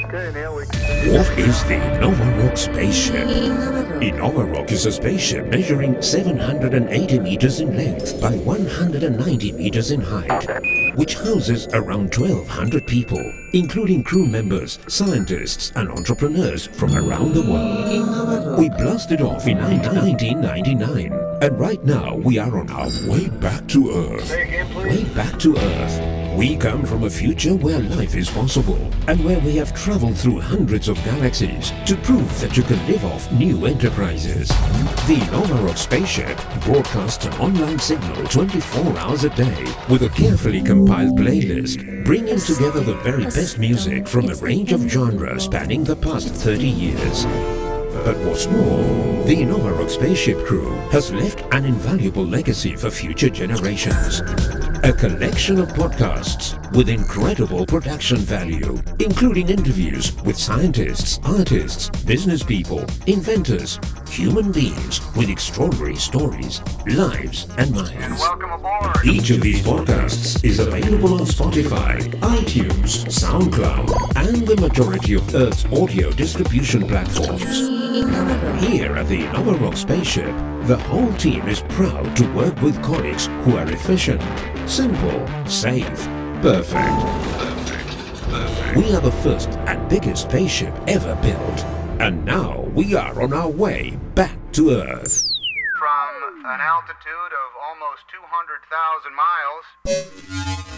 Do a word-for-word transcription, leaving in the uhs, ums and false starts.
Okay, Neil, we What is the Novarock spaceship? The Novarock is a spaceship measuring seven hundred eighty meters in length by one hundred ninety meters in height, which houses around twelve hundred people, including crew members, scientists, and entrepreneurs from around the world. We blasted off in nineteen ninety-nine, and right now we are on our way back to Earth. say again, please. Way back to Earth. We come from a future where life is possible and where we have traveled through hundreds of galaxies to prove that you can live off new enterprises. The Novarock spaceship broadcasts an online signal twenty-four hours a day with a carefully compiled playlist, bringing together the very best music from a range of genres spanning the past thirty years. But what's more, the Novarock spaceship crew has left an invaluable legacy for future generations. A collection of podcasts with incredible production value, including interviews with scientists, artists, business people, inventors, human beings with extraordinary stories, lives, and minds. Welcome aboard. Each of these podcasts is available on Spotify, iTunes, SoundCloud, and the majority of Earth's audio distribution platforms. Here at the Novarock spaceship, the whole team is proud to work with colleagues who are efficient, simple, safe, perfect. Perfect. Perfect. We are the first and biggest spaceship ever built, and now we are on our way back to Earth. From an altitude of almost two hundred thousand miles.